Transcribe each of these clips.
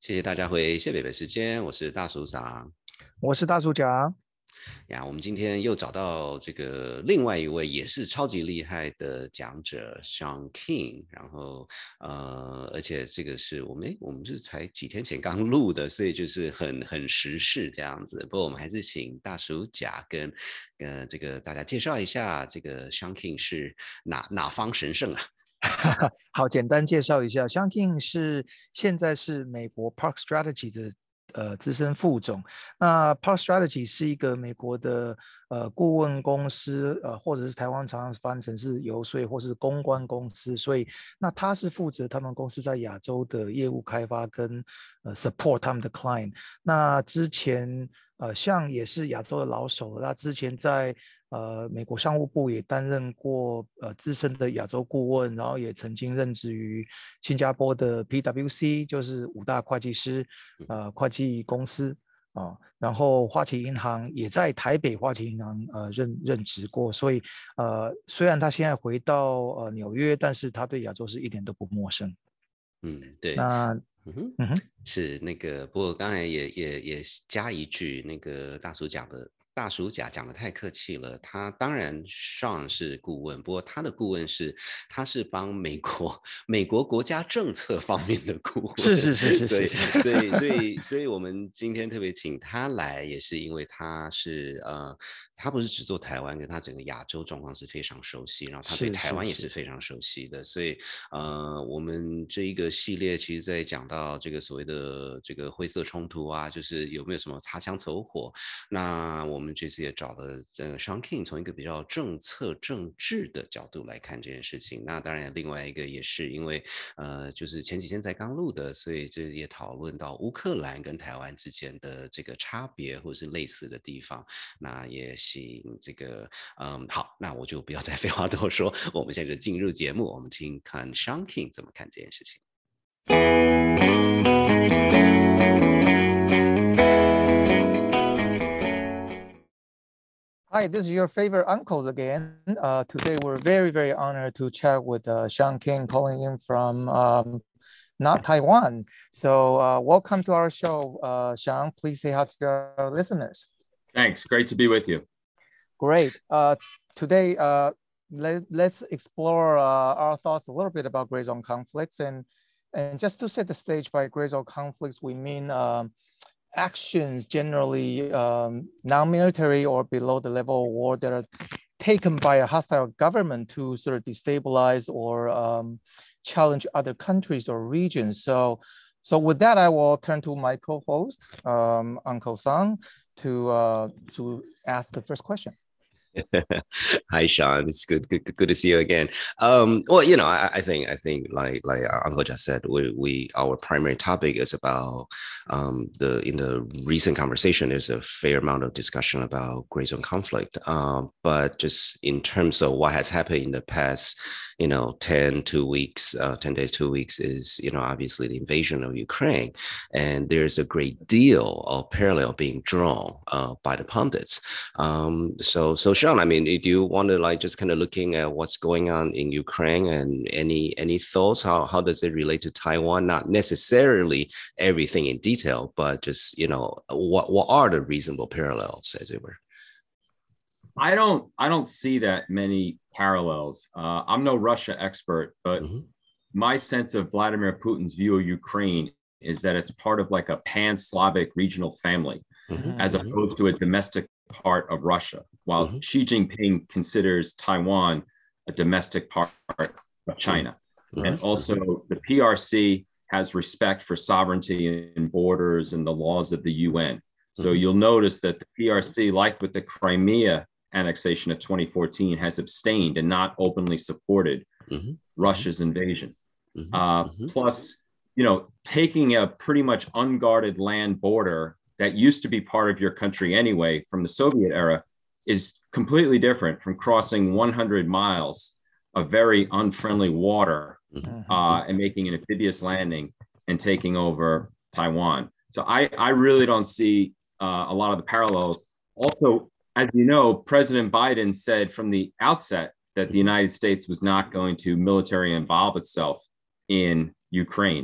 谢谢大家回谢北北时间，我是大叔长。 我是大叔甲。 呀，我们今天又找到这个另外一位也是超级厉害的讲者 Sean King，然后而且这个是我们是才几天前刚录的，所以就是很时事这样子。不过我们还是请大叔甲跟这个大家介绍一下，这个 Sean King 是哪方神圣啊？ 好，简单介绍一下，Sean King 现在是美国 Park Strategy 的资深副总。那 Park Strategy 是一个美国的顾问公司，或者是台湾常常翻成是游说或是公关公司，所以那他是负责他们公司在亚洲的业务开发跟support 他们的 client。那之前像也是亚洲的老手，那之前在美国商务部也担任过资深的亚洲顾问，然后也曾经任职于新加坡的 PwC， 就是五大会计师会计公司然后花旗银行也在台北花旗银行任职过，所以虽然他现在回到纽约，但是他对亚洲是一点都不陌生。 对。 那嗯哼， 嗯哼。 是那个，不过刚才也加一句，那个大叔甲讲的太客气了。他当然上是顾问，不过他是帮美国国家政策方面的顾问， 是是是是所以是是。 我们今天特别请他来，也是因为他不是只做台湾，跟他整个亚洲状况是非常熟悉，然后他对是台湾也是是是。 非常熟悉的，所以我们这一个系列其实在讲到这个所谓的这个灰色冲突啊，就是有没有什么擦枪走火。那我们这次也找了Sean King 从一个比较政策政治的角度来看这件事情。那当然另外一个也是因为就是前几天才刚录的，所以这也讨论到乌克兰跟台湾之间的这个差别或是类似的地方。那也请这个好，那我就不要再废话多说，我们现在就进入节目，我们听看 Sean King 怎么看这件事情。 Hi, this is your favorite uncles again. Today we're very, very honored to chat with Sean King calling in from not Taiwan. So welcome to our show, Sean. Please say hi to our listeners. Thanks. Great to be with you. Great. Today, let's explore our thoughts a little bit about gray zone conflicts. And just to set the stage, by gray zone conflicts, we mean actions generally non-military or below the level of war that are taken by a hostile government to sort of destabilize or challenge other countries or regions. So with that, I will turn to my co-host, Uncle Sang, to ask the first question. Hi, Sean. It's good to see you again. Well, I think like Uncle just said, our primary topic is about in the recent conversation, there's a fair amount of discussion about gray zone conflict. But just in terms of what has happened in the past, 10 days, 2 weeks is, obviously the invasion of Ukraine. And there's a great deal of parallel being drawn by the pundits. So Sean, I mean, do you want to just kind of looking at what's going on in Ukraine and any thoughts? How does it relate to Taiwan? Not necessarily everything in detail, but just, what are the reasonable parallels, as it were? I don't see that many parallels. I'm no Russia expert, but my sense of Vladimir Putin's view of Ukraine is that it's part of like a pan-Slavic regional family, as opposed to a domestic part of Russia, while Xi Jinping considers Taiwan a domestic part of China. And also the PRC has respect for sovereignty and borders and the laws of the UN. So you'll notice that the PRC, like with the Crimea annexation of 2014, has abstained and not openly supported Russia's invasion. Plus, taking a pretty much unguarded land border that used to be part of your country anyway from the Soviet era is completely different from crossing 100 miles of very unfriendly water and making an amphibious landing and taking over Taiwan. So I really don't see a lot of the parallels. Also, as you know, President Biden said from the outset that the United States was not going to military involve itself in Ukraine.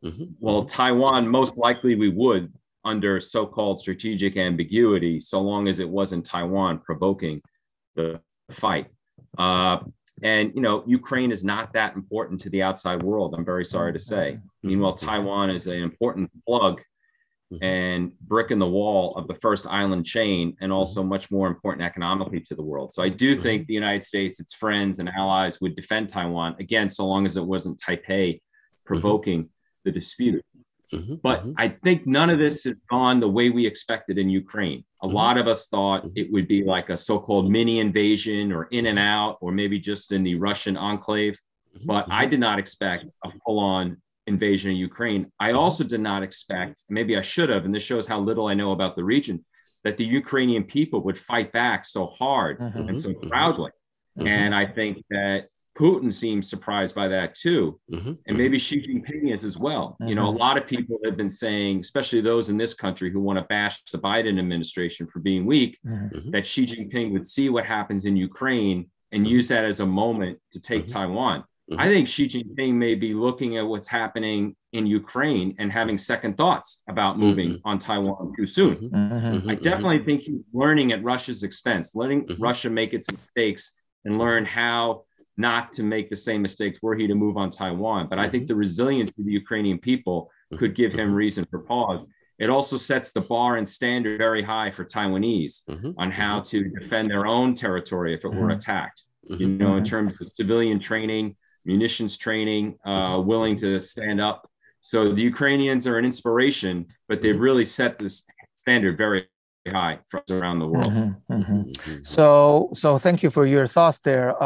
Well, Taiwan, most likely we would under so-called strategic ambiguity, so long as it wasn't Taiwan provoking the fight. And, you know, Ukraine is not that important to the outside world, I'm very sorry to say. Meanwhile, Taiwan is an important plug and brick in the wall of the first island chain, and also much more important economically to the world. So I do think the United States, its friends and allies would defend Taiwan, again, so long as it wasn't Taipei provoking the dispute. But I think none of this has gone the way we expected in Ukraine. A lot of us thought it would be like a so-called mini invasion or in and out, or maybe just in the Russian enclave. But I did not expect a full-on invasion of Ukraine. I also did not expect, maybe I should have, and this shows how little I know about the region, that the Ukrainian people would fight back so hard and so proudly. And I think that Putin seems surprised by that too. And maybe Xi Jinping is as well. You know, a lot of people have been saying, especially those in this country who want to bash the Biden administration for being weak, that Xi Jinping would see what happens in Ukraine and use that as a moment to take Taiwan. I think Xi Jinping may be looking at what's happening in Ukraine and having second thoughts about moving on Taiwan too soon. I definitely think he's learning at Russia's expense, letting Russia make its mistakes and learn how not to make the same mistakes were he to move on Taiwan. But I think the resilience of the Ukrainian people could give him reason for pause. It also sets the bar and standard very high for Taiwanese on how to defend their own territory if it were attacked, you know, in terms of civilian training, munitions training, willing to stand up. So the Ukrainians are an inspiration, but they've really set this standard very high from around the world. So thank you for your thoughts there.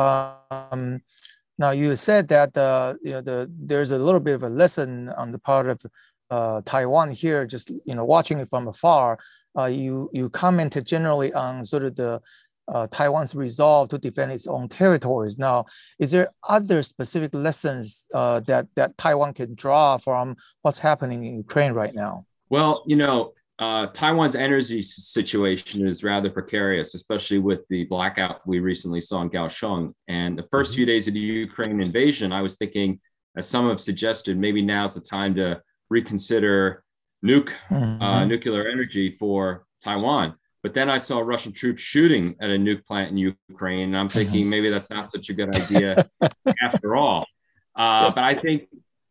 Now you said that there's a little bit of a lesson on the part of Taiwan here, just watching it from afar. You commented generally on sort of the Taiwan's resolve to defend its own territories. Now, is there other specific lessons that Taiwan can draw from what's happening in Ukraine right now? Well, Taiwan's energy situation is rather precarious, especially with the blackout we recently saw in Kaohsiung. And the first few days of the Ukraine invasion, I was thinking, as some have suggested, maybe now's the time to reconsider nuclear energy for Taiwan. But then I saw Russian troops shooting at a nuke plant in Ukraine, and I'm thinking maybe that's not such a good idea after all. But I think,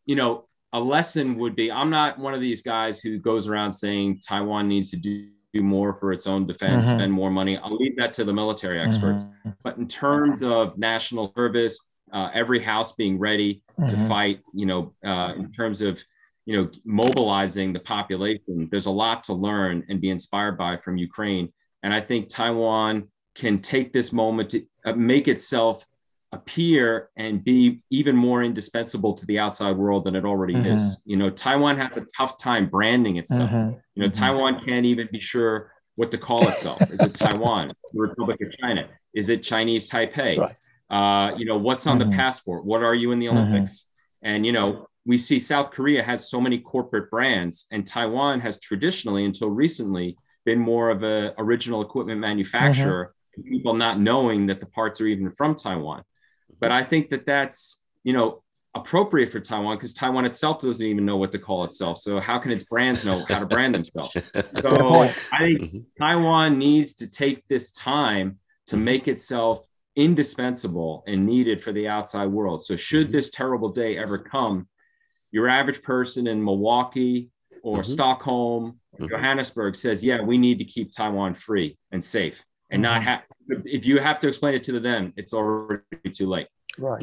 a lesson would be, I'm not one of these guys who goes around saying Taiwan needs to do more for its own defense, spend more money. I'll leave that to the military experts. But in terms of national service, every house being ready to fight, in terms of, mobilizing the population, there's a lot to learn and be inspired by from Ukraine. And I think Taiwan can take this moment to make itself appear and be even more indispensable to the outside world than it already is. Taiwan has a tough time branding itself. Taiwan can't even be sure what to call itself. Is it Taiwan, the Republic of China? Is it Chinese Taipei? Right. What's on the passport? What are you in the Olympics? And, we see South Korea has so many corporate brands, and Taiwan has traditionally, until recently, been more of an original equipment manufacturer, people not knowing that the parts are even from Taiwan. But I think that that's, appropriate for Taiwan, because Taiwan itself doesn't even know what to call itself. So how can its brands know how to brand themselves? So I think Taiwan needs to take this time to make itself indispensable and needed for the outside world. So should this terrible day ever come, your average person in Milwaukee or Stockholm or Johannesburg says, yeah, we need to keep Taiwan free and safe, and not have, if you have to explain it to them, it's already too late. Right.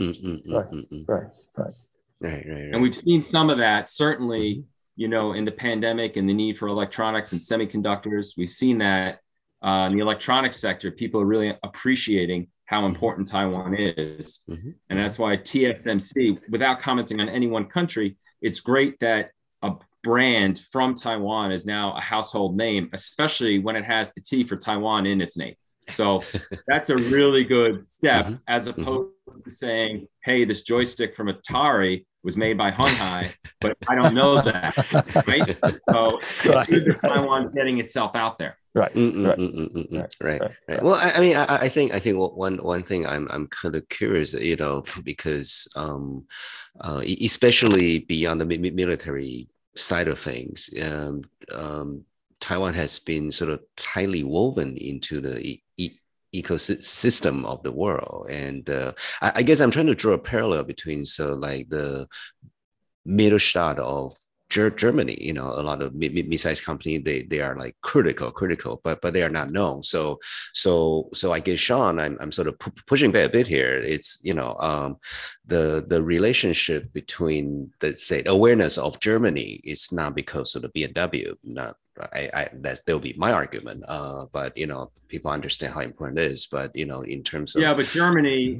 And we've seen some of that, certainly, in the pandemic and the need for electronics and semiconductors. We've seen that in the electronics sector, people are really appreciating how important Taiwan is. And that's why TSMC, without commenting on any one country, it's great that a brand from Taiwan is now a household name, especially when it has the T for Taiwan in its name. So that's a really good step, as opposed to saying, hey, this joystick from Atari was made by Hunhai, but I don't know that, right? So the Taiwan getting itself out there. Right. Right. Well, I mean, I think one thing I'm kind of curious, you know, because especially beyond the military side of things, Taiwan has been sort of tightly woven into the ecosystem of the world, and I guess I'm trying to draw a parallel between like the Mittelstand of Germany. You know, a lot of mid-sized company, they are like critical, but they are not known. So I guess, Sean, I'm sort of pushing back a bit here. It's, you know, the relationship between the, say, awareness of Germany, it's not because of the BMW, not. That'll be my argument. But you know, people understand how important it is. But you know, in terms of but Germany,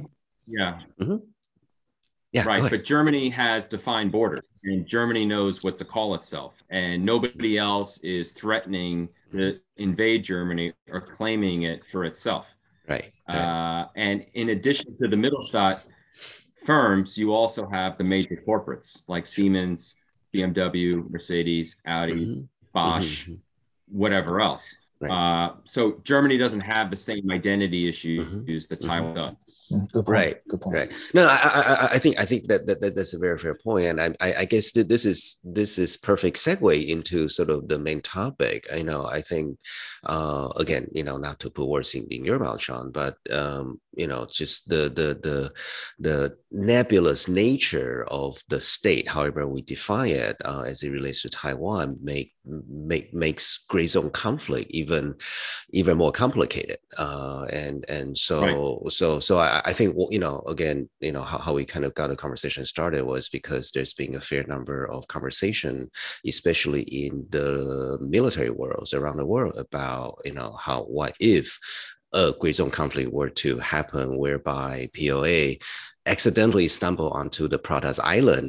right. But Germany has defined borders, and Germany knows what to call itself, and nobody else is threatening to invade Germany or claiming it for itself. Right. And in addition to the Mittelstand firms, you also have the major corporates like Siemens, BMW, Mercedes, Audi, Bosch, whatever else. Right. So Germany doesn't have the same identity issues that Taiwan does. Good point. Right. Good point. Right. No, I think that's a very fair point, and I guess that this is perfect segue into sort of the main topic. I know. I think again, you know, not to put words in your mouth, Sean, but you know, just the nebulous nature of the state, however we define it, as it relates to Taiwan, makes gray zone conflict even more complicated. And so I think, you know, again, you know, how we kind of got the conversation started was because there's been a fair number of conversation, especially in the military worlds around the world, about, you know, what if a gray zone conflict were to happen whereby PLA accidentally stumble onto the Pratas Island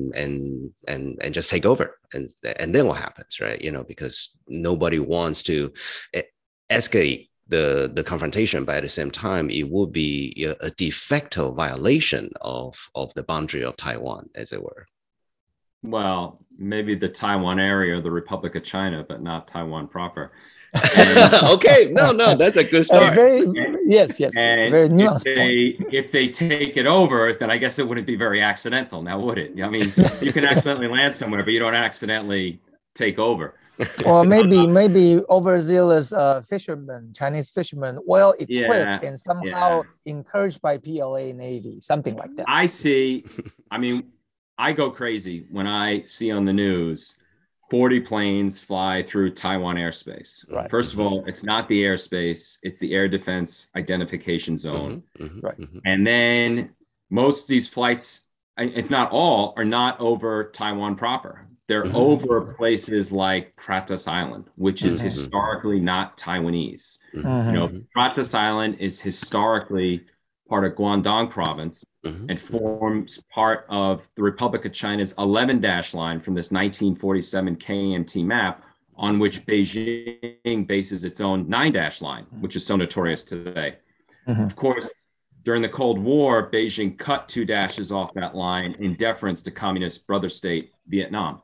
and just take over, and then what happens, right? You know, because nobody wants to escalate the confrontation, but at the same time, it would be a de facto violation of the boundary of Taiwan, as it were. Well, maybe the Taiwan area, the Republic of China, but not Taiwan proper. Okay, no, that's a good start. Yes, very nuanced point. If they take it over, then I guess it wouldn't be very accidental, now would it? I mean, you can accidentally land somewhere, but you don't accidentally take over. Or maybe overzealous fishermen, Chinese fishermen, well equipped and somehow encouraged by PLA Navy, something like that. I see. I mean, I go crazy when I see on the news 40 planes fly through Taiwan airspace. Right. First of all, it's not the airspace, it's the Air Defense Identification Zone. Right. And then most of these flights, if not all, are not over Taiwan proper. They're over places like Pratas Island, which is historically not Taiwanese. You know, Pratas Island is historically part of Guangdong province and forms part of the Republic of China's 11-dash line from this 1947 KMT map, on which Beijing bases its own 9-dash line, which is so notorious today. Of course, during the Cold War, Beijing cut 2 dashes off that line in deference to communist brother state Vietnam.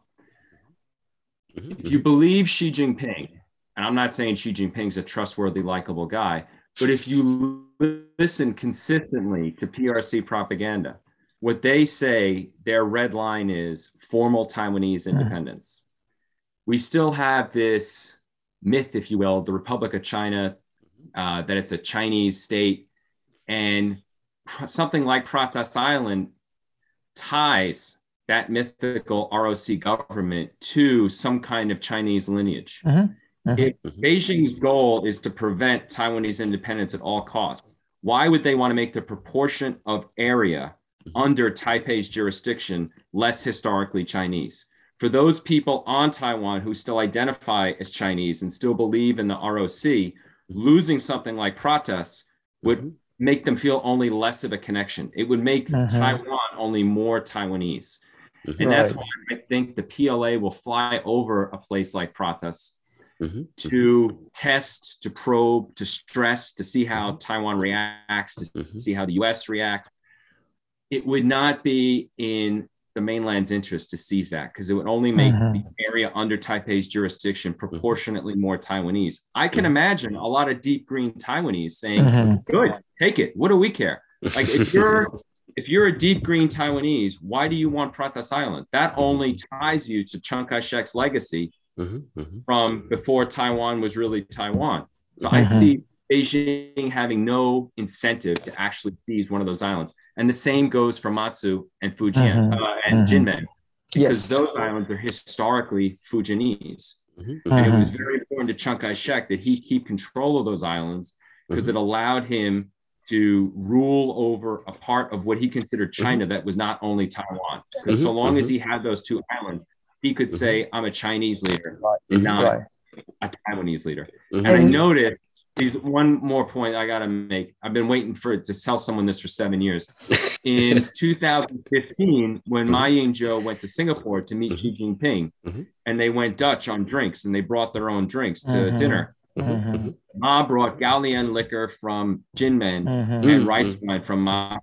If you believe Xi Jinping, and I'm not saying Xi Jinping's a trustworthy, likable guy, but if you listen consistently to PRC propaganda, what they say, their red line is formal Taiwanese independence. We still have this myth, if you will, the Republic of China, that it's a Chinese state, and something like Pratas Island ties that mythical ROC government to some kind of Chinese lineage. If Beijing's goal is to prevent Taiwanese independence at all costs, why would they want to make the proportion of area under Taipei's jurisdiction less historically Chinese? For those people on Taiwan who still identify as Chinese and still believe in the ROC, losing something like Pratas would make them feel only less of a connection. It would make Taiwan only more Taiwanese. And that's why I think the PLA will fly over a place like Pratas to test, to probe, to stress, to see how Taiwan reacts, to see how the US reacts. It would not be in the mainland's interest to seize that, because it would only make the area under Taipei's jurisdiction proportionately more Taiwanese. I can imagine a lot of deep green Taiwanese saying, good, take it. What do we care? Like if you're a deep green Taiwanese, why do you want Pratas Island? That only ties you to Chiang Kai-shek's legacy from before Taiwan was really Taiwan. So I see Beijing having no incentive to actually seize one of those islands. And the same goes for Matsu and Fujian and Jinmen, because those islands are historically Fujianese. And it was very important to Chiang Kai-shek that he keep control of those islands, because it allowed him to rule over a part of what he considered China that was not only Taiwan. Because so long as he had those two islands, he could say, I'm a Chinese leader and not a Taiwanese leader. And I noticed, there's one more point I got to make. I've been waiting to tell someone this for 7 years. In 2015, when Ma Ying-jeou went to Singapore to meet Xi Jinping, and they went Dutch on drinks, and they brought their own drinks to dinner. Ma brought Gaolian liquor from Jinmen and rice wine from Ma.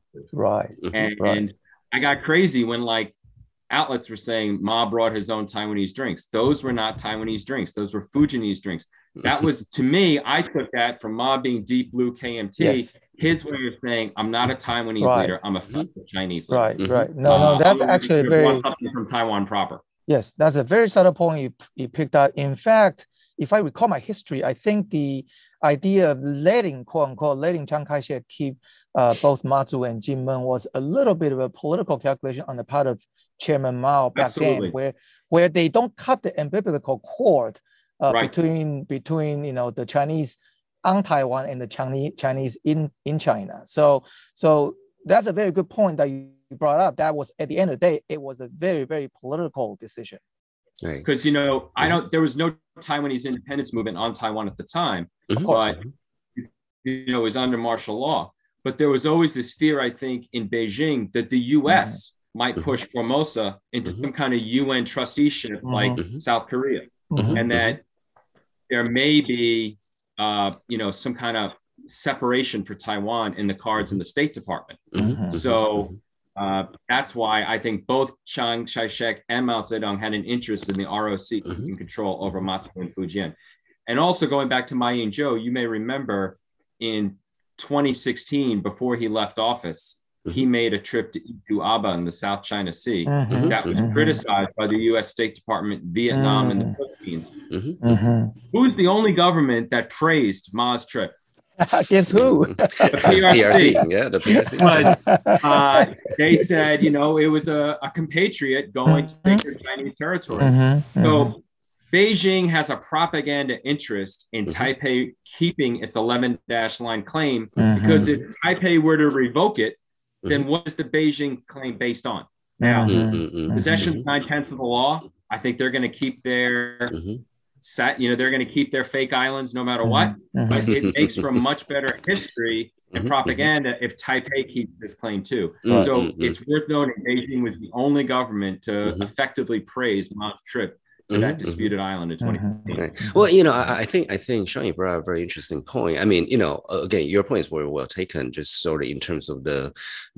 And I got crazy when like outlets were saying Ma brought his own Taiwanese drinks. Those were not Taiwanese drinks. Those were Fujianese drinks. That was, to me, I took that from Ma being deep blue KMT, his way of saying, I'm not a Taiwanese leader, I'm a Chinese leader. No, that's actually very... something from Taiwan proper. Yes, that's a very subtle point you picked up. In fact, if I recall my history, I think the idea of letting, quote unquote, letting Chiang Kai-shek keep both Matsu and Jinmen was a little bit of a political calculation on the part of Chairman Mao back then, where they don't cut the umbilical cord between the Chinese on Taiwan and the Chinese in China. So that's a very good point that you brought up. That was, at the end of the day, it was a very, very political decision. Because there was no Taiwanese independence movement on Taiwan at the time, but it was under martial law. But there was always this fear, I think, in Beijing that the U.S. might push Formosa into some kind of UN trusteeship like South Korea, and that there may be, some kind of separation for Taiwan in the cards in the State Department. So that's why I think both Chiang Kai-shek and Mao Zedong had an interest in the ROC in control over Matsu and Fujian. And also going back to Ma Ying-jeou, you may remember in 2016, before he left office, he made a trip to Aba in the South China Sea that was criticized by the U.S. State Department, Vietnam, and the Philippines. Who's the only government that praised Ma's trip? Guess who? The PRC. Yeah, the PRC. They said, it was a compatriot going to take their Chinese territory. So Beijing has a propaganda interest in Taipei keeping its 11-dash line claim, because if Taipei were to revoke it, then what is the Beijing claim based on? Now, possession's 9/10 of the law. I think they're going to keep their they're going to keep their fake islands no matter what. But it makes for much better history and propaganda if Taipei keeps this claim too. So it's worth noting Beijing was the only government to effectively praise Ma's trip to that disputed island in 2015. Well, I think Sean, you brought up a very interesting point. I mean, again, your point is very well taken, just sort of in terms of the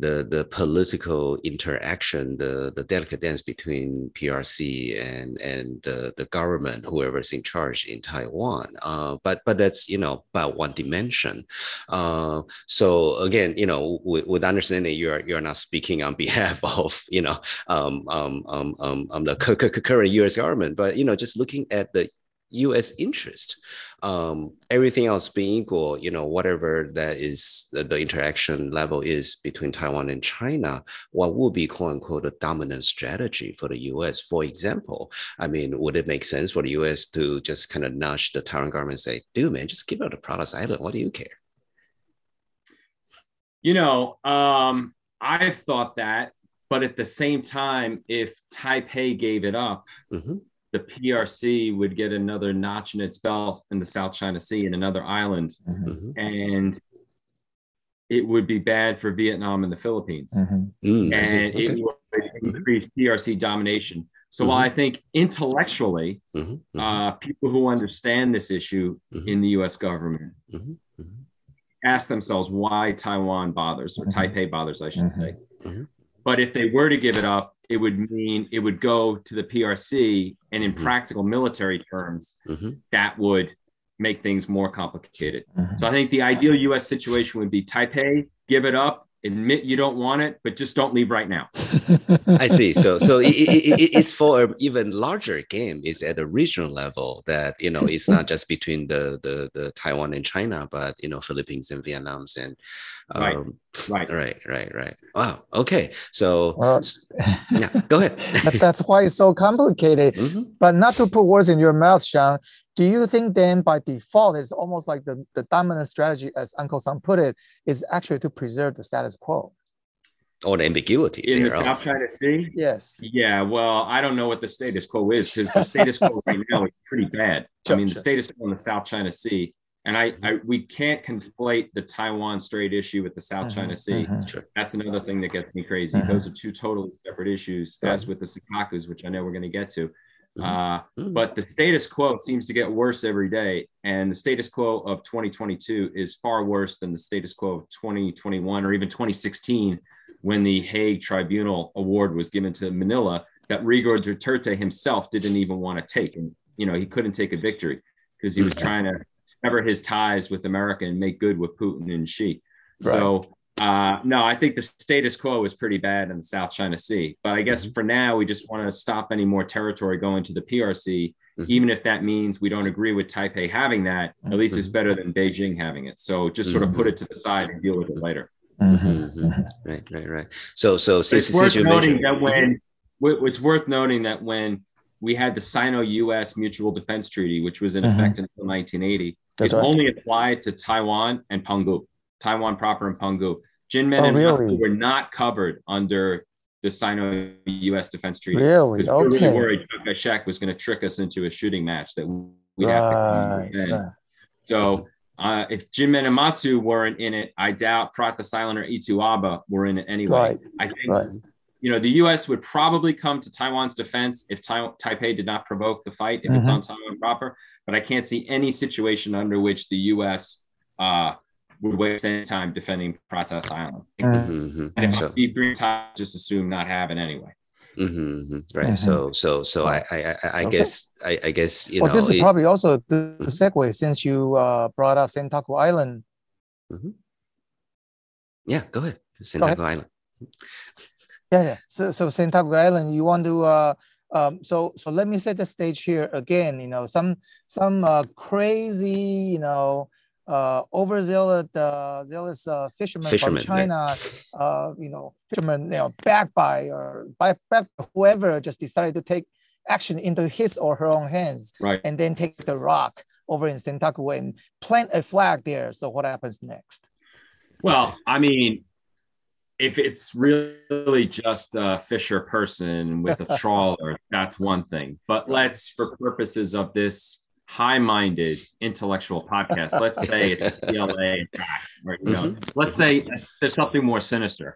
political interaction, the delicate dance between PRC and the government, whoever's in charge in Taiwan. But that's, by one dimension. So again, with understanding you're not speaking on behalf of, the current U.S. government, but just looking at the U.S. interest, everything else being equal, whatever that is, the interaction level is between Taiwan and China, what would be quote unquote a dominant strategy for the U.S.? For example, I mean, would it make sense for the U.S. to just kind of nudge the Taiwan government and say, dude, man, just give out the Pratas Island. What do you care? I've thought that, but at the same time, if Taipei gave it up, the PRC would get another notch in its belt in the South China Sea and another island. And it would be bad for Vietnam and the Philippines. And it would increase PRC domination. So while I think intellectually, people who understand this issue in the US government ask themselves why Taiwan bothers, or Taipei bothers, I should say. But if they were to give it up, it would mean it would go to the PRC, and in practical military terms, that would make things more complicated. So I think the ideal U.S. situation would be Taipei, give it up, admit you don't want it, but just don't leave right now. I see. So it's for an even larger game. It's at a regional level that, you know, it's not just between the Taiwan and China, but, you know, Philippines and Vietnam's and right. Wow. Okay. So yeah, go ahead. That's why it's so complicated. But not to put words in your mouth, Sean, do you think then by default, it's almost like the dominant strategy, as Uncle Sam put it, is actually to preserve the status quo? Or the ambiguity in the South China Sea? Yes. Yeah, well, I don't know what the status quo is, because the status quo right now is pretty bad. The status quo in the South China Sea, and we can't conflate the Taiwan Strait issue with the South China Sea. That's another thing that gets me crazy. Those are two totally separate issues, as with the Senkakus, which I know we're going to get to. But the status quo seems to get worse every day, and the status quo of 2022 is far worse than the status quo of 2021 or even 2016, when the Hague Tribunal Award was given to Manila, that Rigor Duterte himself didn't even want to take. And, you know, he couldn't take a victory because he was trying to sever his ties with America and make good with Putin and Xi. So, no, I think the status quo is pretty bad in the South China Sea. But I guess for now, we just want to stop any more territory going to the PRC, even if that means we don't agree with Taipei having that. At least it's better than Beijing having it. So just sort of put it to the side and deal with it later. Right. So it's worth noting that when we had the Sino-U.S. Mutual Defense Treaty, which was in effect until 1980, it only applied to Taiwan and Penghu, Taiwan proper and Penghu. Jinmen and Matsu were not covered under the Sino-U.S. Defense Treaty. Really? Okay. We were really worried Chiang Kai-shek was going to trick us into a shooting match that we'd have to defend. So if Jinmen and Matsu weren't in it, I doubt Pratas Island or Itu Aba were in it anyway. I think, you know, the U.S. would probably come to Taiwan's defense if Taipei did not provoke the fight, if it's on Taiwan proper. But I can't see any situation under which the U.S. Would waste any time defending Pratas Island. And if deep green time, just assume not having anyway. Right. So I guess you know. This is probably also a good segue since you brought up Senkaku Island. Yeah, go ahead. Senkaku Island. Yeah. So Senkaku Island, you want to so let me set the stage here again. You know, some crazy, you know, overzealous fishermen from China, you know, fishermen, you know, backed by whoever just decided to take action into his or her own hands, and then take the rock over in Senkaku and plant a flag there. So what happens next? Well, I mean, if it's really just a fisher person with a trawler, that's one thing. But let's, for purposes of this high-minded intellectual podcast, let's say it's PLA, or, you know, let's say there's something more sinister.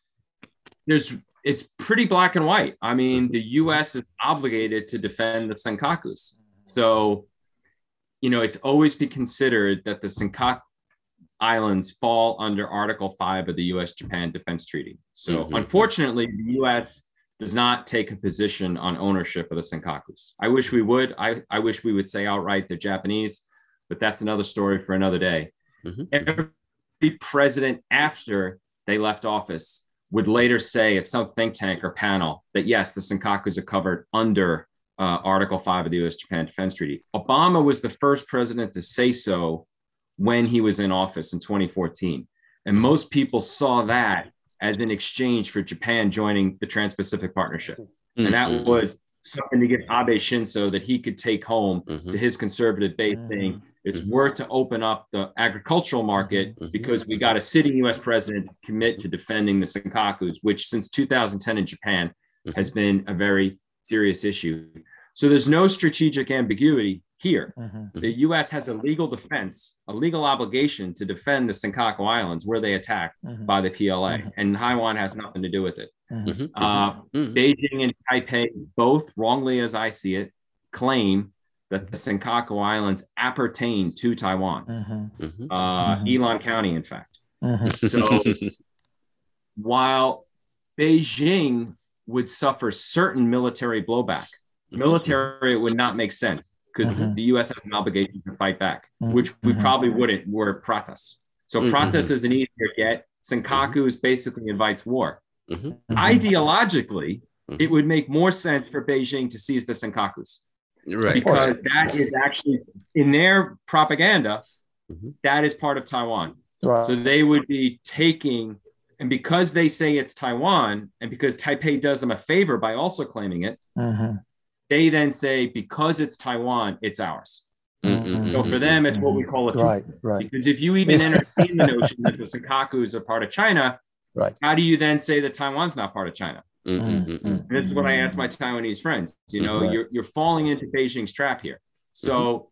It's pretty black and white. I mean, the U.S. is obligated to defend the Senkakus. So, you know, it's always been considered that the Senkaku Islands fall under Article 5 of the U.S.-Japan Defense Treaty. So, unfortunately, the U.S. does not take a position on ownership of the Senkakus. I wish we would. I wish we would say outright they're Japanese, but that's another story for another day. Every president after they left office would later say at some think tank or panel that, yes, the Senkakus are covered under Article 5 of the U.S.-Japan Defense Treaty. Obama was the first president to say so when he was in office in 2014. And most people saw that as an exchange for Japan joining the Trans-Pacific Partnership. And that was something to give Abe Shinzo that he could take home to his conservative base, saying it's worth to open up the agricultural market because we got a sitting U.S. president to commit to defending the Senkakus, which since 2010 in Japan has been a very serious issue. So there's no strategic ambiguity here. The U.S. has a legal defense, a legal obligation to defend the Senkaku Islands where they attacked by the PLA, and Taiwan has nothing to do with it. Beijing and Taipei both, wrongly as I see it, claim that the Senkaku Islands appertain to Taiwan, Yilan County, in fact. So while Beijing would suffer certain military blowback. Military, it would not make sense because the U.S. has an obligation to fight back, which we probably wouldn't were Pratas. So Pratas is an easier get. Senkakus basically invites war. Ideologically, it would make more sense for Beijing to seize the Senkakus. Right. Because that is actually, in their propaganda, that is part of Taiwan. Right. So they would be taking, and because they say it's Taiwan, and because Taipei does them a favor by also claiming it, they then say, because it's Taiwan, it's ours. So for them, it's what we call a right. Because if you even entertain the notion that the Senkakus are part of China, how do you then say that Taiwan's not part of China? And this is what I ask my Taiwanese friends. You know, you're falling into Beijing's trap here. So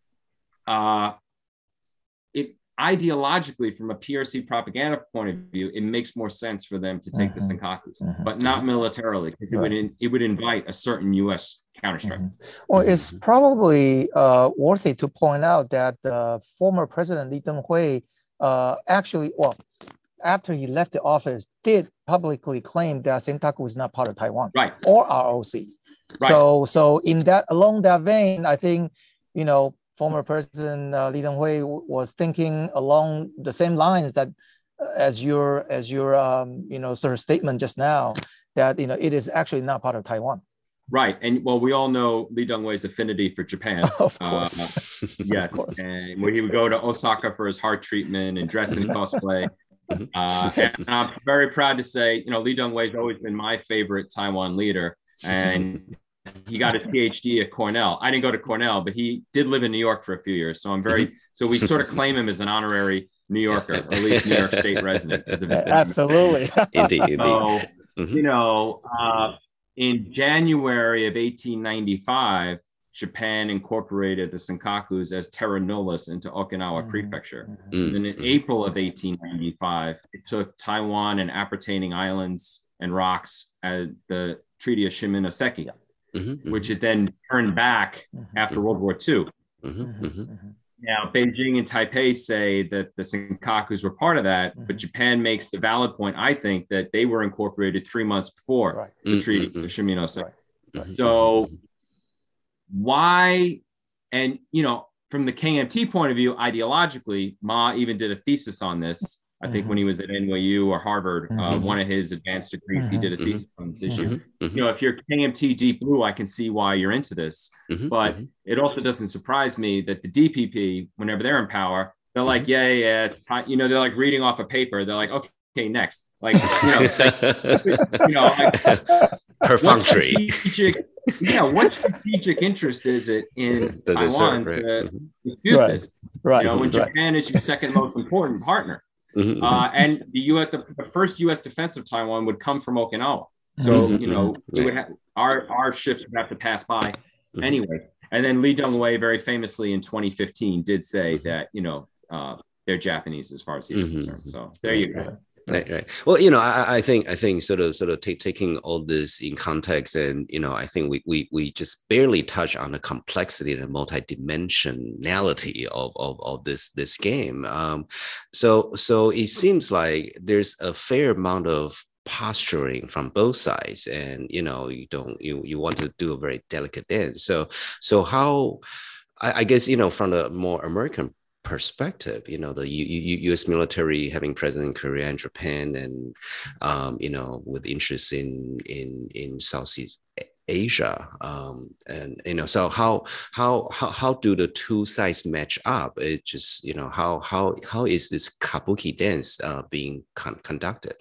it ideologically, from a PRC propaganda point of view, it makes more sense for them to take the Senkakus, but not militarily, because it would invite a certain U.S. counterstrike. Well, it's probably worthy to point out that former President Lee Teng-hui actually, after he left the office, did publicly claim that Senkaku is not part of Taiwan, or ROC. So in that, along that vein, I think, you know, former President Lee Teng-hui was thinking along the same lines that as your you know, sort of statement just now, that, you know, it is actually not part of Taiwan. Right. And well, we all know Lee Teng-hui's affinity for Japan. Of course. Yes. Of course. And when he would go to Osaka for his heart treatment and dress in cosplay. And I'm very proud to say, you know, Lee Teng-hui has always been my favorite Taiwan leader. And he got his PhD at Cornell. I didn't go to Cornell, but he did live in New York for a few years. So so we sort of claim him as an honorary New Yorker, or at least New York State resident. Absolutely. Indeed. So, you know, in January of 1895, Japan incorporated the Senkakus as terra nullius into Okinawa Prefecture. And in April of 1895, it took Taiwan and appertaining islands and rocks at the Treaty of Shimonoseki, which it then turned back after World War II. Now, Beijing and Taipei say that the Senkakus were part of that, but Japan makes the valid point, I think, that they were incorporated 3 months before the Treaty of Shimonoseki. So why, and, you know, from the KMT point of view, ideologically, Ma even did a thesis on this. I think when he was at NYU or Harvard, one of his advanced degrees, he did a thesis on this issue. You know, if you're KMT Deep Blue, I can see why you're into this. But it also doesn't surprise me that the DPP, whenever they're in power, they're like, it's time. You know, they're like reading off a paper. They're like, okay, next. Like, you know, like, perfunctory. What strategic interest is it in Taiwan to dispute this? Right. You know, when Japan is your second most important partner. And the first U.S. defense of Taiwan would come from Okinawa. So, you know, it would our ships would have to pass by anyway. And then Lee Teng-hui very famously in 2015 did say that, you know, they're Japanese as far as he's concerned. So there you go. Right. Well, you know, I think sort of taking all this in context, and, you know, I think we just barely touch on the complexity and the multidimensionality of this game. So it seems like there's a fair amount of posturing from both sides, and, you know, you want to do a very delicate dance. So how, I guess, you know, from the more American perspective, you know, the U.S. military having presence in Korea and Japan, and you know, with interest in Southeast Asia, and, you know, so how do the two sides match up? It just, you know, how is this kabuki dance being conducted?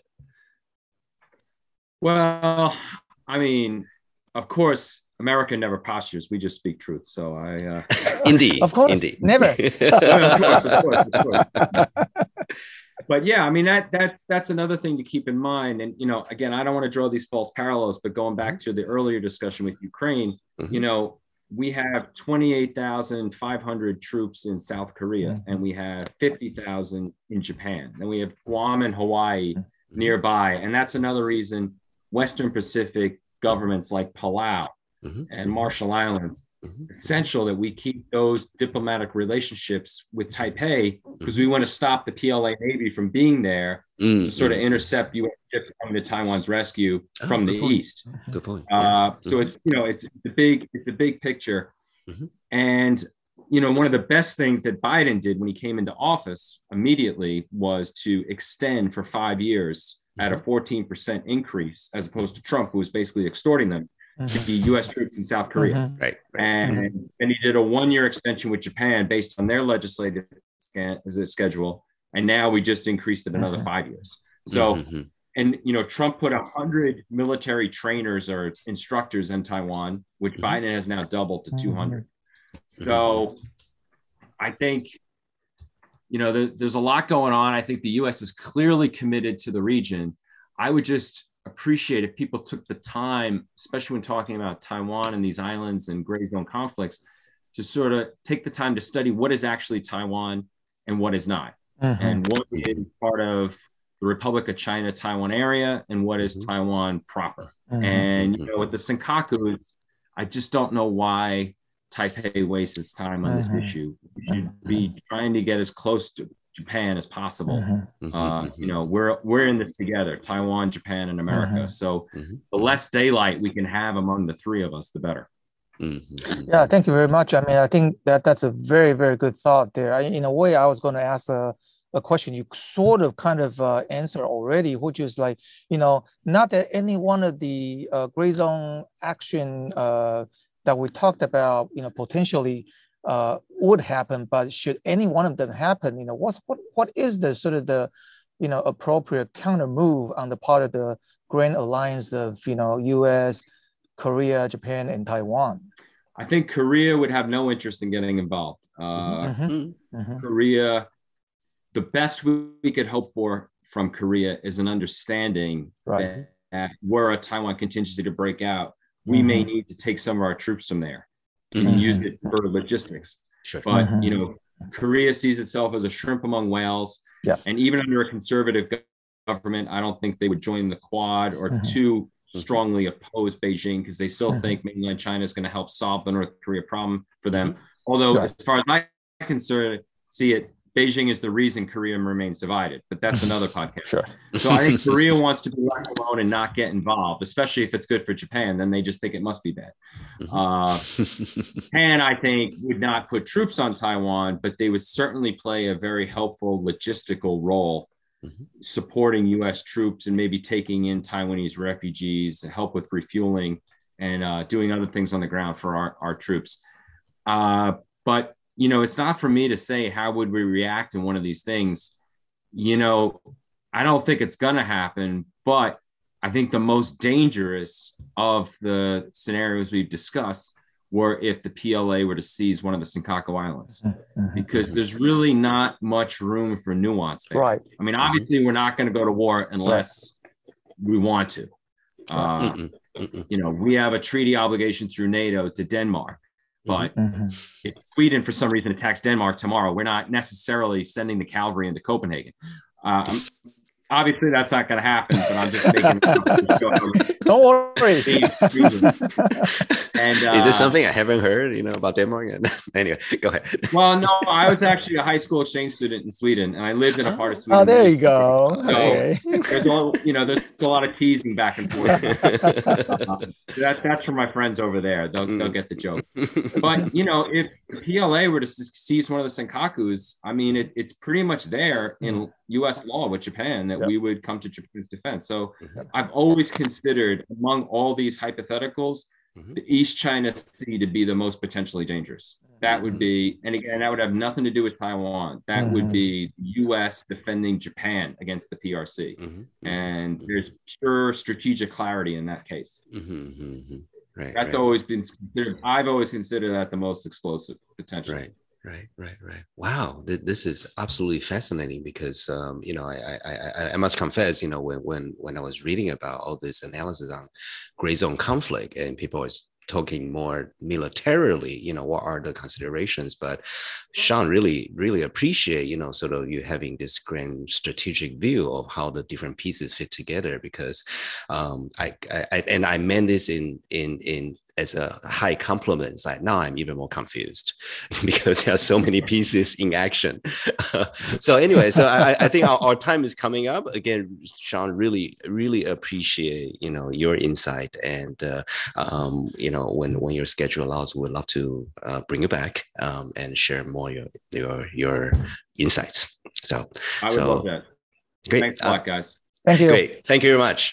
Well, I mean, of course, America never postures. We just speak truth. So indeed, of course, indeed, never. of course. But yeah, I mean, that's another thing to keep in mind. And, you know, again, I don't want to draw these false parallels, but going back to the earlier discussion with Ukraine, you know, we have 28,500 troops in South Korea, and we have 50,000 in Japan, and we have Guam and Hawaii nearby. And that's another reason Western Pacific governments like Palau and Marshall Islands essential that we keep those diplomatic relationships with Taipei because we want to stop the PLA Navy from being there to sort of intercept U.S. ships coming to Taiwan's rescue from the east. Good point. So it's a big picture, and one of the best things that Biden did when he came into office immediately was to extend for 5 years at a 14% increase, as opposed to Trump, who was basically extorting them to be U.S. troops in South Korea. Right. And he did a 1-year extension with Japan based on their legislative schedule. And now we just increased it another 5 years. So, and, Trump put 100 military trainers or instructors in Taiwan, which Biden has now doubled to 200. So I think, there's a lot going on. I think the U.S. is clearly committed to the region. I would just appreciate if people took the time, especially when talking about Taiwan and these islands and gray zone conflicts, to sort of take the time to study what is actually Taiwan and what is not, and what is part of the Republic of China, Taiwan area, and what is Taiwan proper. And, with the Senkakus, I just don't know why Taipei wastes its time on this issue. We should be trying to get as close to Japan as possible. We're in this together, Taiwan, Japan, and America. So the less daylight we can have among the three of us, the better. Yeah, thank you very much. I mean, I think that's a very, very good thought there. In a way, I was going to ask a question you sort of kind of answer already, which is like, not that any one of the gray zone action that we talked about, potentially would happen, but should any one of them happen, what is the sort of the, appropriate counter move on the part of the grand alliance of, U.S., Korea, Japan, and Taiwan? I think Korea would have no interest in getting involved. Korea, the best we could hope for from Korea is an understanding that were a Taiwan contingency to break out, we may need to take some of our troops from there and use it for logistics. Sure. But, Korea sees itself as a shrimp among whales. Yeah. And even under a conservative government, I don't think they would join the Quad or too strongly oppose Beijing, because they still think mainland China is going to help solve the North Korea problem for them. Although, as far as I can see it, Beijing is the reason Korea remains divided, but that's another podcast. Sure. So I think Korea wants to be left alone and not get involved, especially if it's good for Japan. Then they just think it must be bad. Japan, I think, would not put troops on Taiwan, but they would certainly play a very helpful logistical role, supporting U.S. troops and maybe taking in Taiwanese refugees, help with refueling, and doing other things on the ground for our troops. But it's not for me to say how would we react in one of these things. I don't think it's going to happen, but I think the most dangerous of the scenarios we've discussed were if the PLA were to seize one of the Senkaku Islands, because there's really not much room for nuance there. Right. I mean, obviously, we're not going to go to war unless we want to. We have a treaty obligation through NATO to Denmark. But if Sweden, for some reason, attacks Denmark tomorrow, we're not necessarily sending the cavalry into Copenhagen. Obviously, that's not going to happen, but I'm just making Don't worry. And, is this something I haven't heard, about Denmark? Anyway, go ahead. Well, no, I was actually a high school exchange student in Sweden, and I lived in a part of Sweden. Oh, there you go. So okay. There's a lot of teasing back and forth. That's from my friends over there. They'll get the joke. But, if PLA were to seize one of the Senkakus, I mean, it's pretty much there in U.S. law with Japan that we would come to Japan's defense. So I've always considered, among all these hypotheticals, the East China Sea to be the most potentially dangerous. That would be, and again, that would have nothing to do with Taiwan. That would be U.S. defending Japan against the PRC. And there's pure strategic clarity in that case. Right, That's always been considered. I've always considered that the most explosive potential. Right. Wow, this is absolutely fascinating because I must confess, when I was reading about all this analysis on gray zone conflict and people was talking more militarily, what are the considerations? But Sean, really appreciate, sort of you having this grand strategic view of how the different pieces fit together, because I meant this in as a high compliment. It's like now I'm even more confused because there are so many pieces in action. So anyway, so I think our time is coming up. Again, Sean, really appreciate your insight, and when your schedule allows, we'd love to bring you back and share more your insights. So I would love that. Great. Thanks a lot, guys. Thank you. Great. Thank you very much.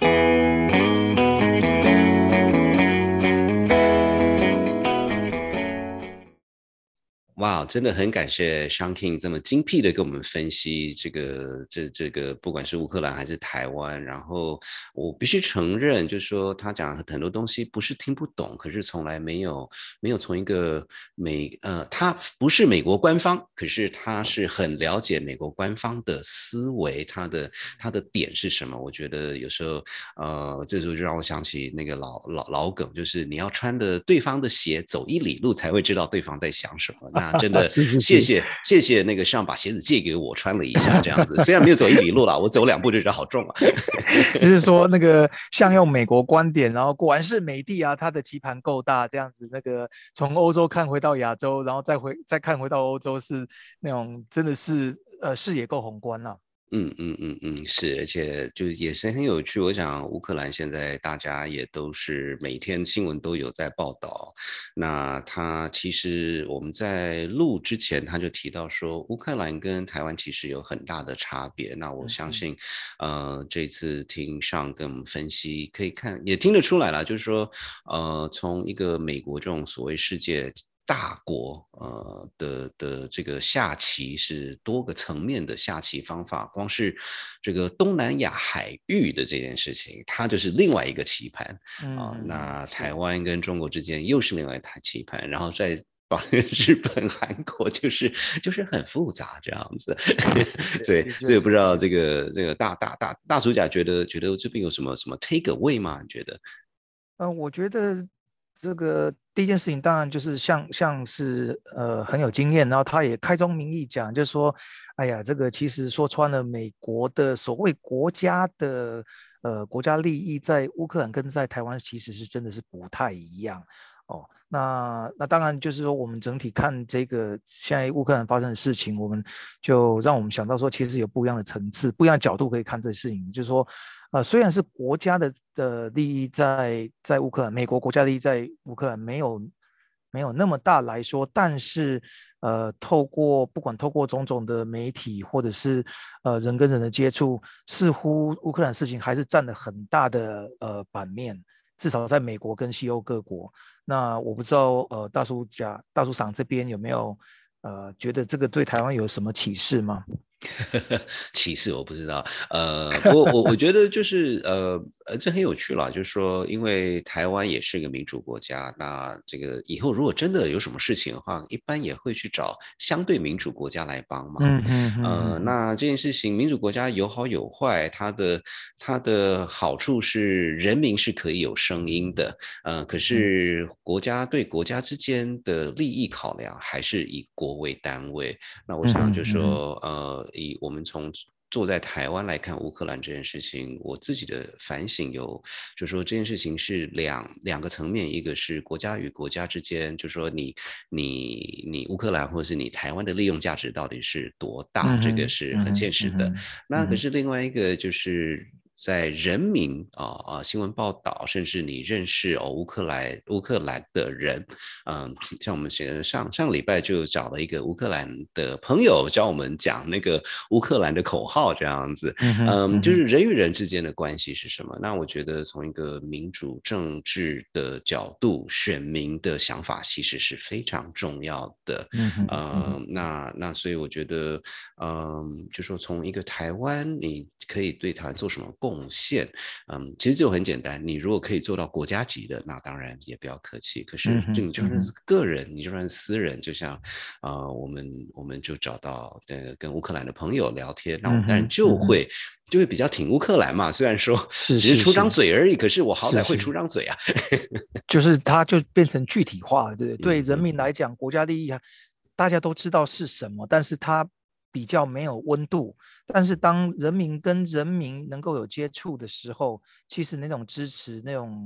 哇，真的很感谢 Sean King 这么精辟的跟我们分析这个，不管是乌克兰还是台湾。然后我必须承认，就是说他讲很多东西不是听不懂，可是从来没有从一个他不是美国官方，可是他是很了解美国官方的思维，他的点是什么。我觉得有时候这时候就让我想起那个老梗，就是你要穿的对方的鞋走1里路才会知道对方在想什么。那真的谢谢那个上把鞋子借给我穿了一下，这样子虽然没有走1里路啦，我走2步就觉得好重啊。 就是说那个像用美国观点，然后果然是美帝啊，他的棋盘够大，这样子那个从欧洲看回到亚洲，然后再看回到欧洲，是那种真的是视野够宏观啦。 是，而且就也是很有趣。我想乌克兰现在大家也都是每天新闻都有在报道。那他其实我们在录之前他就提到说，乌克兰跟台湾其实有很大的差别。那我相信，这次听上跟我们分析，可以看也听得出来了，就是说，从一个美国这种所谓世界大国的这个下棋是多个层面的下棋方法，光是这个东南亚海域的这件事情，它就是另外一个棋盘那台湾跟中国之间又是另外一台棋盘，然后在日本、韩国就是很复杂这样子，所以不知道这个大主角觉得这边有什么 take away 吗？你觉得？ 我觉得这个第一件事情当然就是像是很有经验，然后他也开宗明义讲，就是说，哎呀，这个其实说穿了，美国的所谓国家的国家利益在乌克兰跟在台湾其实是真的是不太一样。那当然就是说，我们整体看这个现在乌克兰发生的事情，我们就让我们想到说，其实有不一样的层次、不一样的角度可以看这事情。就是说，虽然是国家的利益在乌克兰，美国国家利益在乌克兰没有那么大来说，但是不管透过种种的媒体或者是人跟人的接触，似乎乌克兰事情还是占了很大的版面。至少在美国跟西欧各国。那我不知道大叔赏这边有没有觉得这个对台湾有什么启示吗？ 歧视我不知道，我觉得就是这很有趣了，就是说，因为台湾也是一个民主国家，那这个以后如果真的有什么事情的话，一般也会去找相对民主国家来帮忙。那这件事情，民主国家有好有坏，它的好处是人民是可以有声音的，可是国家对国家之间的利益考量还是以国为单位。那我想就说，以我们从坐在台湾来看乌克兰这件事情，我自己的反省就是说这件事情是两个层面，一个是国家与国家之间，就是说你乌克兰或者是你台湾的利用价值到底是多大，这个是很现实的。那可是另外一个就是在人民新闻报道，甚至你认识乌克兰的人，像我们上个礼拜就找了一个乌克兰的朋友教我们讲那个乌克兰的口号，这样子，就是人与人之间的关系是什么？那我觉得从一个民主政治的角度，选民的想法其实是非常重要的。那所以我觉得，就说从一个台湾，你可以对台湾做什么贡献？其实就很简单，你如果可以做到国家级的，那当然也不要客气。可是你就算是个人，你就算是私人，就像我们就找到跟乌克兰的朋友聊天，那我们当然就会比较挺乌克兰嘛。虽然说只是出张嘴而已，可是我好歹会出张嘴啊。 就是它就变成具体化，对人民来讲，国家利益大家都知道是什么，但是它比较没有温度。但是当人民跟人民能够有接触的时候，其实那种支持、那种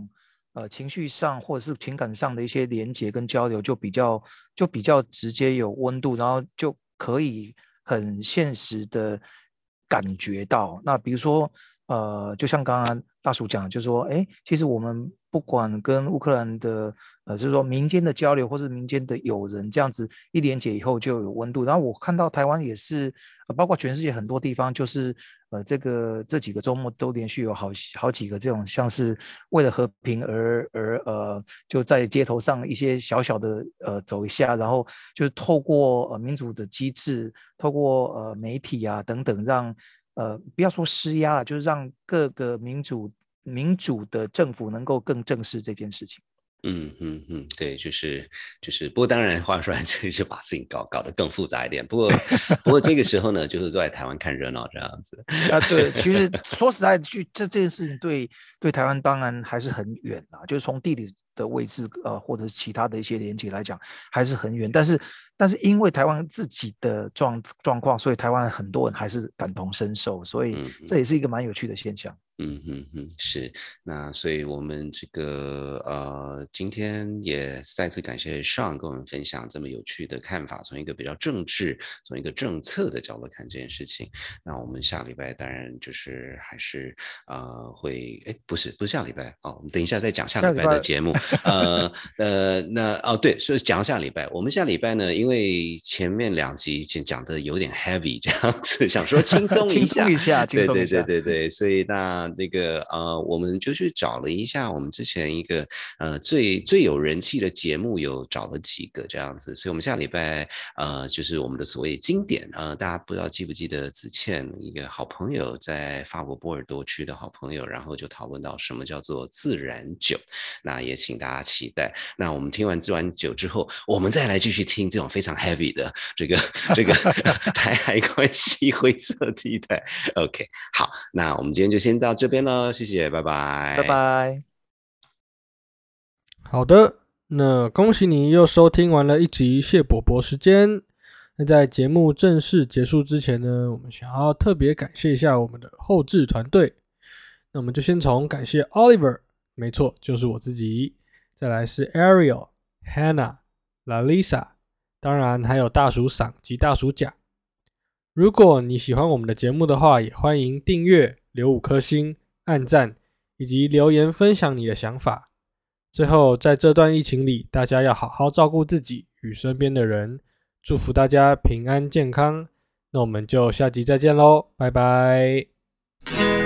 情绪上或者是情感上的一些连结跟交流就比较直接有温度，然后就可以很现实的感觉到。那比如说就像刚刚大叔讲的，就是说其实我们不管跟乌克兰的就是说民间的交流或是民间的友人这样子一连结以后就有温度。然后我看到台湾也是包括全世界很多地方，就是这几个周末都连续有好几个这种像是为了和平而就在街头上一些小小的走一下，然后就是透过民主的机制，透过媒体啊等等，让不要说施压，就是让各个民主的政府能够更正视这件事情。 对，不过当然话说来，这就把事情搞得更复杂一点。不过这个时候呢，就是坐在台湾看热闹这样子。 对，其实说实在，这件事情对台湾当然还是很远啦，就是从地理的位置或者是其他的一些连结来讲还是很远。但是因为台湾自己的状况，所以台湾很多人还是感同身受，所以这也是一个蛮有趣的现象。 是。那所以我们这个今天也再次感谢 Sean 跟我们分享这么有趣的看法，从一个比较政治，从一个政策的角度看这件事情。那我们下礼拜当然就是还是会不是下礼拜我们等一下再讲下礼拜的节目。对，所以讲下礼拜，我们下礼拜呢，因为前面2集讲的有点 heavy 这样子，想说轻松一下，对，所以那个我们就去找了一下我们之前一个最有人气的节目，有找了几个这样子，所以我们下礼拜就是我们的所谓经典大家不知道记不记得子倩一个好朋友，在法国波尔多区的好朋友，然后就讨论到什么叫做自然酒，那也请大家期待。那我们听完自然酒之后，我们再来继续听这种非常 heavy 的这个台海关系灰色地带。OK， 好，那我们今天就先到这边了，谢谢，拜拜， 拜拜。 好的，那恭喜你又收听完了一集谢伯伯时间。那在节目正式结束之前呢，我们想要特别感谢一下我们的后制团队。那我们就先从感谢 Oliver， 没错，就是我自己，再来是 Ariel、Hannah、Lalisa， 当然还有大叔赏及大叔甲。如果你喜欢我们的节目的话，也欢迎订阅、留5颗星、按赞以及留言分享你的想法。最后，在这段疫情里，大家要好好照顾自己与身边的人，祝福大家平安健康。那我们就下集再见咯，拜拜。